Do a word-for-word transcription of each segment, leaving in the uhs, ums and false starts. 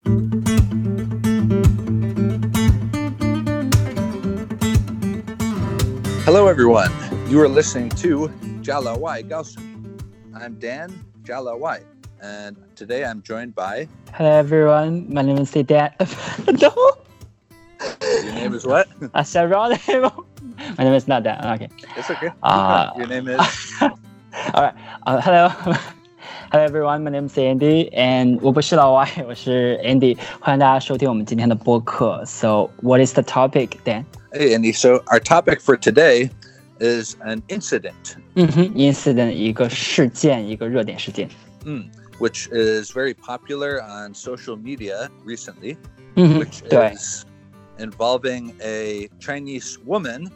Hello, everyone. You are listening to Jala Wai Gaosumi. I'm Dan Jala Wai, and today I'm joined by. Hello, everyone. My name is Dan. No. Your name is what? I said wrong name. My name is not Dan. Okay. It's okay. Uh, Your name is. All right. Uh, hello. Hello, everyone. My name is Andy, and 我不是老外，我是 Andy。欢迎大家收听我们今天的播客。So, what is the topic, Dan? Hey, Andy. So, our topic for today is an incident. 嗯哼 ，incident 一个事件，一个热点事件。 Mm, which is very popular on social media recently. 嗯哼， which 对。 is involving a Chinese woman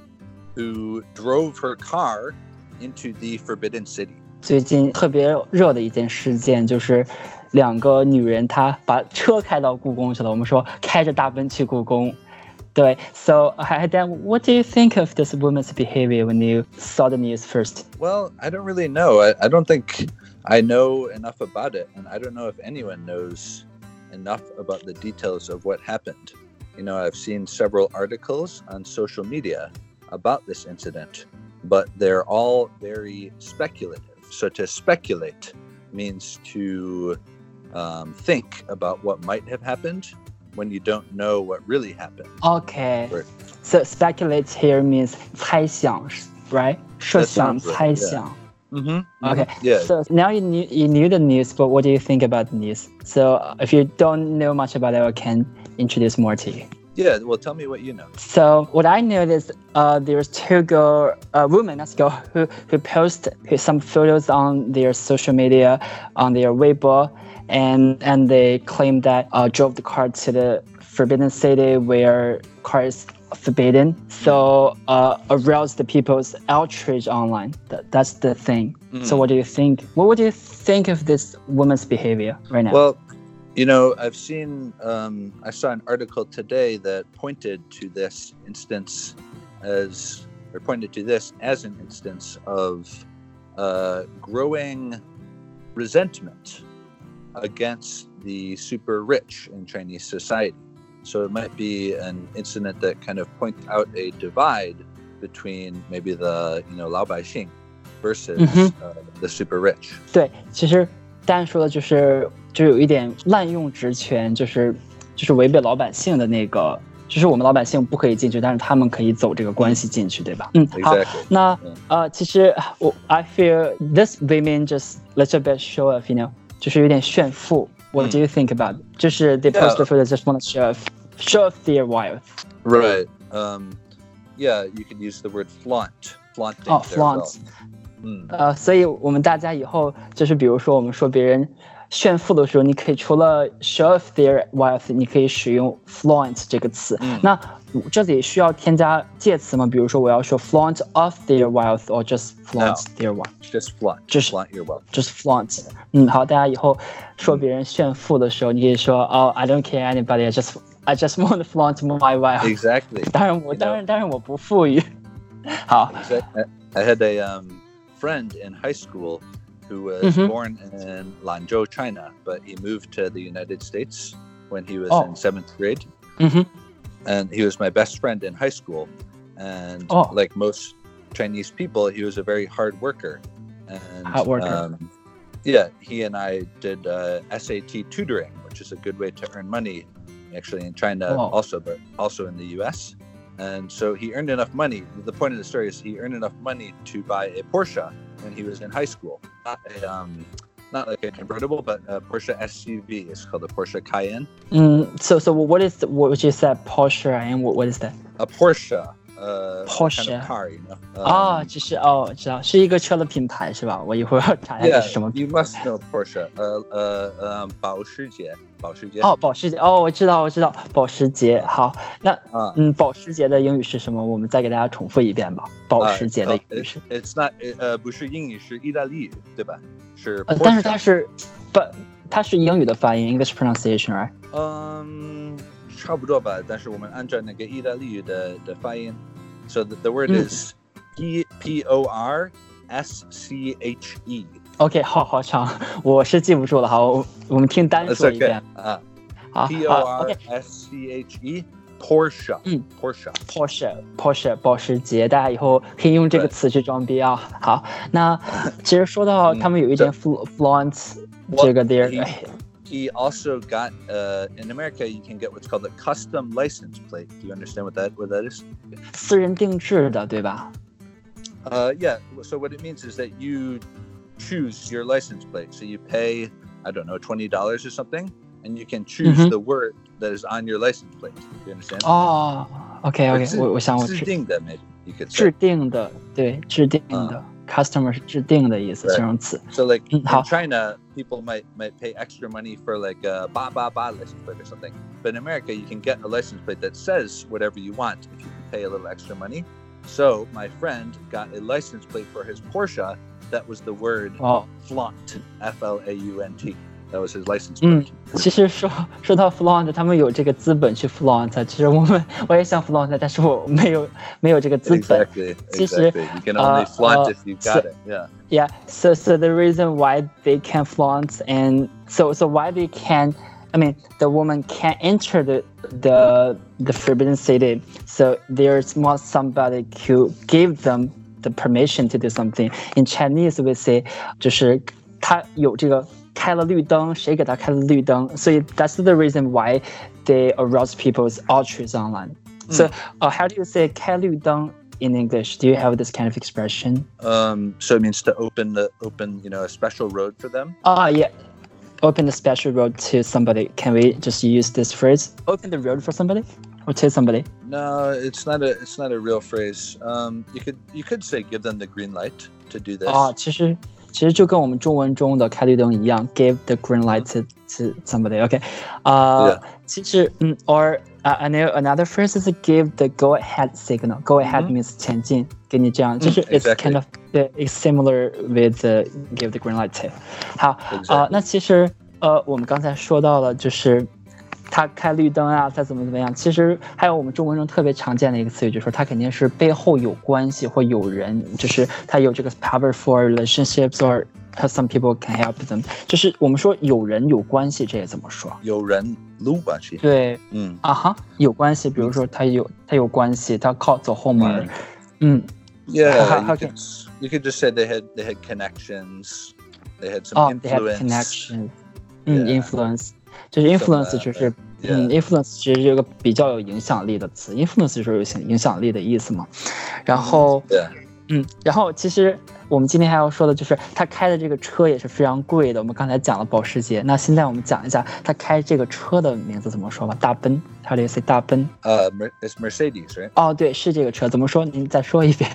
who drove her car into the Forbidden City. 最近特别热的一件事件就是两个女人她把车开到故宫去了。我们说开着大奔去故宫。对 So, Dan, what do you think of this woman's behavior when you saw the news first? Well, I don't really know. I, I don't think I know enough about it, and I don't know if anyone knows enough about the details of what happened. You know, I've seen several articles on social media about this incident, but they're all very speculative. So to speculate means to um, think about what might have happened when you don't know what really happened. Okay. Right. So speculate here means 猜想 right? 设想 sounds right, 猜想 Mm-hmm. Okay. Yeah. So now you knew, you knew the news, but what do you think about the news? So if you don't know much about it, I can introduce more to you. Yeah. Well, tell me what you know. So what I know is uh, there's two girl, uh, women, let's go, who who post some photos on their social media, on their Weibo, and and they claim that uh, drove the car to the Forbidden City where car is forbidden. So uh, arouse the people's outrage online. That, that's the thing. Mm. So what do you think? What would you think of this woman's behavior right now? Well, you know, I've seen, um, I saw an article today that pointed to this instance as, or pointed to this as an instance of uh, growing resentment against the super rich in Chinese society. So it might be an incident that kind of points out a divide between maybe the, you know, 老百姓 versus Mhm. uh, the super rich. 对，其实Dan说的就是就有一点滥用职权，就是就是违背老百姓的那个，就是我们老百姓不可以进去，但是他们可以走这个关系进去，对吧？嗯，好 Exactly. 那 Yeah. 呃，其实我 I feel this women just little bit show off, you know， 就是有点炫富。What do you think about it? 就是 they post the photo just want to show off, show off their wealth. Right. Um, yeah, you could use the word flaunt. Flaunting. 哦 their wealth. ，flaunt。 嗯呃，所以我们大家以后就是比如说我们说别人炫富的时候，你可以除了 show off their wealth， 你可以使用 flaunt 这个词。 嗯那这里需要添加介词吗？比如说我要说 flaunt of their wealth or just flaunt No. their wealth， Just flaunt. Just- flaunt your wealth. 就是 flaunt。嗯，好，大家以后说别人炫富的时候，你可以说哦 I don't care anybody, I just I just want to flaunt my wealth。 Exactly. 当然我 You know. 当然当然我不富裕。好， Exactly. I had a um, friend in high school who was Mhm. born in Lanzhou, China, but he moved to the United States when he was Oh. in seventh grade. 嗯哼， And he was my best friend in high school. And Oh. like most Chinese people, he was a very hard worker. And Hard worker. Um, yeah, he and I did uh, S A T tutoring, which is a good way to earn money, actually in China Wow. also, but also in the U S. And so he earned enough money. The point of the story is he earned enough money to buy a Porsche when he was in high school. Not a, um, not like a convertible, but a Porsche S U V. It's called the Porsche Cayenne. 嗯，so so what is what you said Porsche and what what is that？ A Porsche. Uh, kind Porsche. of car, you know. 啊， Um, 这是哦，知道是一个车的品牌是吧？我一会儿要查一下 yeah, 这是什么。 you must know Porsche. Uh, uh, um, 保时捷，保时捷。 哦，保时捷哦，我知道我知道保时捷。好，那啊嗯，保时捷的英语是什么？我们再给大家重复一遍吧。保时捷的英语是 Uh, it's not. 呃，不是英语，是意大利语，对吧？是呃，但是 Porsche 它是不，它是英语的发音 ，English pronunciation，right？ 嗯，差不多吧。但是我们按照那个意大利语的的发音。So the, the word Mm. is P P O R S C H E. OK， 好好长，我是记不住了。好，我我们听单 That's 说一 okay. 遍。 啊， P O R S C H E Porsche， 嗯 ，Porsche Porsche Porsche 保时捷，大家以后可以用这个词去装逼啊。好，那其实说到他们有一点 flaunt 这个 their。 He also got uh, in America. You can get what's called a custom license plate. Do you understand what that what that is? 私人定制的，对吧？ Uh, yeah. So what it means is that you choose your license plate. So you pay, I don't know, twenty dollars or something, and you can choose mm-hmm. the word that is on your license plate. Do you understand? 哦 ，OK OK， 我我想我制定的 maybe you could say. 制定的，对，制定的。Uh, Customer 是制定的意思，形容词。 So like in China, people might might pay extra money for like a ba ba ba license plate or something. But in America, you can get a license plate that says whatever you want if you can pay a little extra money. So my friend got a license plate for his Porsche that was the word oh. flaunt, F L A U N T. That was his license plate. 嗯，其实说说到 flaunt， 他们有这个资本去 flaunt。其实我们我也想 flaunt， 但是我没有没有这个资本。 Exactly. Exactly. You can only flaunt uh, if you got so, it. Yeah. Yeah. So so the reason why they can flaunt and so so why they can, I mean, the woman can't enter the the the forbidden city. So there's not somebody who give them the permission to do something. In Chinese, we say 就是他有这个。开了绿灯，谁给他开了绿灯？所以 that's the reason why they arouse people's outrage online. Mm. So, uh, how do you say 开绿灯 in English? Do you have this kind of expression? Um, so it means to open the open, you know, a special road for them. Ah, uh, yeah. Open a special road to somebody. Can we just use this phrase? Open the road for somebody, or to somebody? No, it's not a it's not a real phrase. Um, you could you could say give them the green light to do this. 啊，其实。其实就跟我们中文中的开绿灯一样 ，give the green light to to somebody. OK， 啊、uh, ，其实嗯 ，or uh, I know another phrase is give the go ahead signal. Go ahead mm-hmm. means 前进，给你这样，就是 it's kind of yeah, it's similar with the give the green light to. 好，啊、exactly. 呃，那其实呃，我们刚才说到了，就是。他开绿灯啊，再怎么怎么样，其实还有我们中文中特别常见的一个词语，就是说他肯定是背后有关系或有人，就是他有这个 powerful relationships or some people can help them。就是我们说有人有关系，这也怎么说？ 有人有关系。 对，嗯啊哈，有关系。比如说他有他有关系，他靠走后门。嗯 ，Yeah, you could you could just say they had they had connections, they had some influence. Oh, they had connections. 嗯 ，influence。就是 influence 就是 yeah. 嗯 influence 其实是一个比较有影响力的词 influence 就是有影响力的意思嘛。然后 yeah. 嗯，然后其实我们今天还要说的就是他开的这个车也是非常贵的。我们刚才讲了保时捷，那现在我们讲一下他开这个车的名字怎么说吧。大奔 ，How do you say 大奔？ 呃、uh, ，it's Mercedes, right？ 哦，对，是这个车，怎么说？您再说一遍。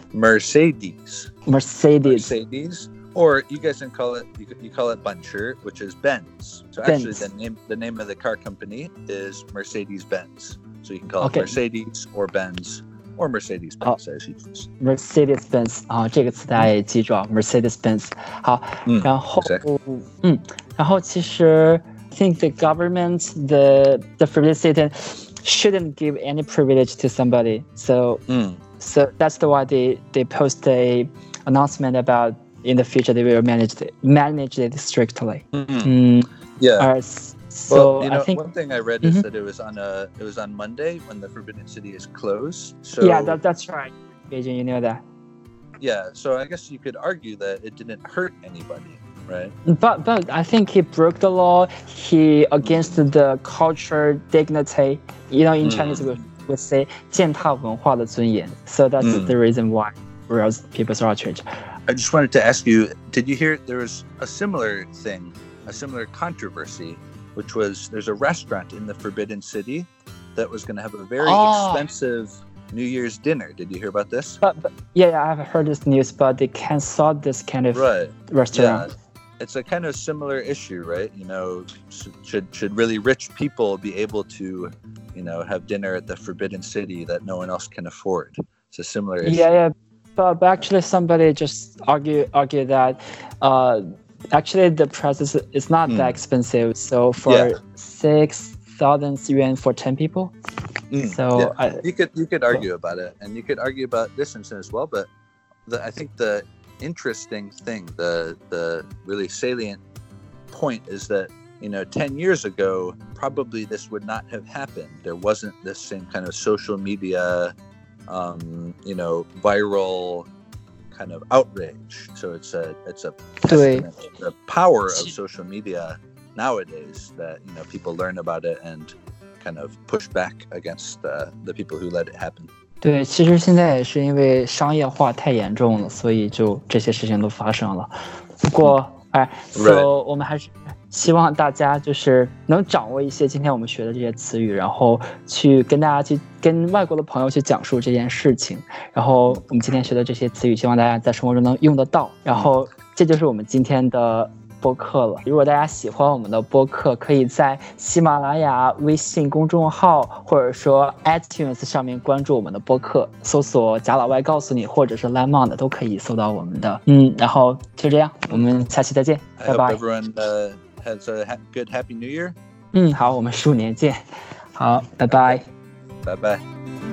Mercedes. Mercedes. Mercedes.Or you guys can call it you, you call it Buncher, which is Benz. So actually, Benz. the name the name of the car company is Mercedes-Benz. So you can call okay. it Mercedes or Benz or Mercedes-Benz、oh. as you choose. Mercedes-Benz 啊，这个词大家也记住啊 ，Mercedes-Benz。好，嗯、然后 exactly. 嗯，然后其实 I think the government, the the forbidden city shouldn't give any privilege to somebody. So、 嗯、 so that's the why they they post a announcement about.In the future, they will manage it, manage it strictly. Mm-hmm. Mm, yeah. Uh, so well, you know, I think one thing I read mm-hmm. is that it was on a it was on Monday when the Forbidden City is closed. So yeah, that, that's right, Beijing. You know that. Yeah. So I guess you could argue that it didn't hurt anybody, right? But but I think he broke the law. He against the culture dignity. You know, in mm. Chinese we would say 践踏文化的尊严. So that's mm. the reason why aroused people's outrage.I just wanted to ask you, did you hear there was a similar thing, a similar controversy, which was there's a restaurant in the Forbidden City that was going to have a very oh. expensive New Year's dinner. Did you hear about this? But, but yeah, I've heard this news, but they canceled this kind of right. restaurant. Yeah. It's a kind of similar issue, right? You know, should should really rich people be able to, you know, have dinner at the Forbidden City that no one else can afford? It's a similar issue. Yeah, yeah.But actually, somebody just argue argue that uh, actually the price is, is not mm. that expensive. So for yeah. six thousand yuan for ten people. Mm. So yeah. I, you could you could argue about it, and you could argue about this instance as well. But the, I think the interesting thing, the the really salient point is that you know, ten years ago, probably this would not have happened. There wasn't this same kind of social media, um, you know, viral kind of outrage. So it's a it's a testament to the power of social media nowadays that, you know, people learn about it and kind of push back against uh, the people who let it happen. 对，其实现在也是因为商业化太严重了，所以就这些事情都发生了。不过，哎 ，so 我们还是希望大家就是能掌握一些今天我们学的这些词语，然后去跟大家去跟外国的朋友去讲述这件事情。然后我们今天学的这些词语，希望大家在生活中能用得到。然后这就是我们今天的播客了。如果大家喜欢我们的播客，可以在喜马拉雅微信公众号或者说 iTunes 上面关注我们的播客，搜索贾老外告诉你或者是 Lemon 都可以搜到我们的。嗯，然后就这样，我们下期再见，拜拜。 I hope everyone uh, has a ha- good Happy New Year. 嗯，好，我们鼠年见。好，拜拜， 拜拜。